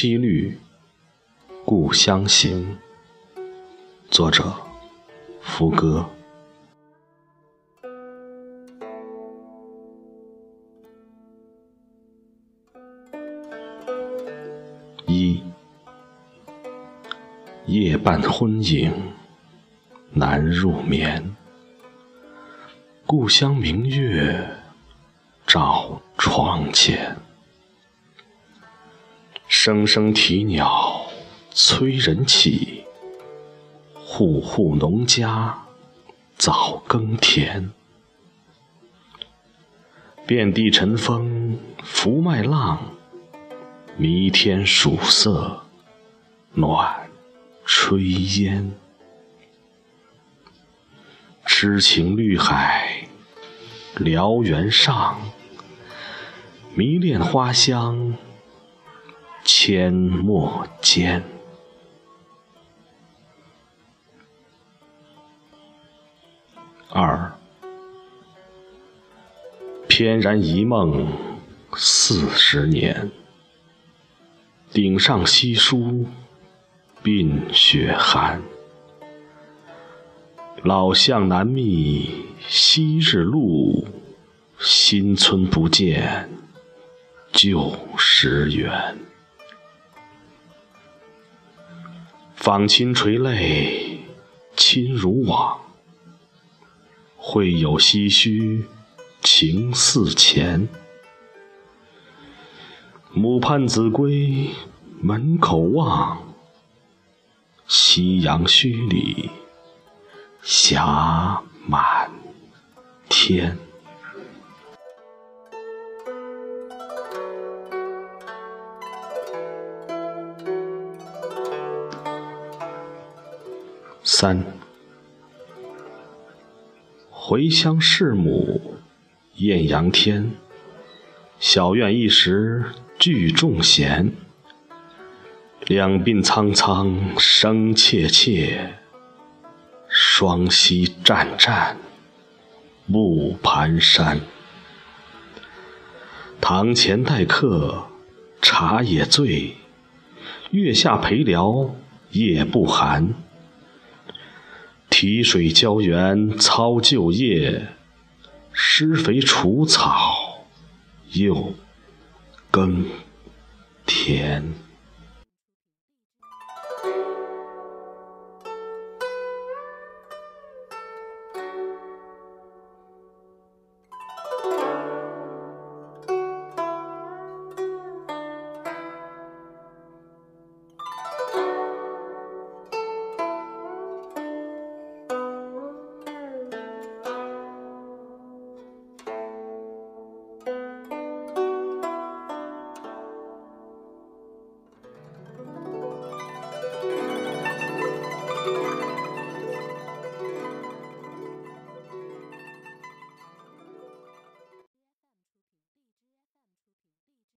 七律《故乡行》，作者福歌。一，夜半昏影难入眠，故乡明月照窗前。声声啼鸟催人起，户户农家早耕田。遍地晨风拂麦浪，弥天曙色暖炊烟。痴情绿海燎原上，迷恋花香阡陌间。二，翩然一梦40年，顶上稀疏鬓雪寒。老巷难觅昔日路，新村不见旧时圆。访亲垂泪亲如往，会有唏嘘情似前。母盼子归门口望，夕阳墟里霞满天。三，回乡试母艳阳天，小院一时聚众闲。两鬓苍苍声切切，双膝战战不蹒跚。堂前待客茶也醉，月下陪聊夜不寒。提水浇园操旧业，施肥除草又耕田。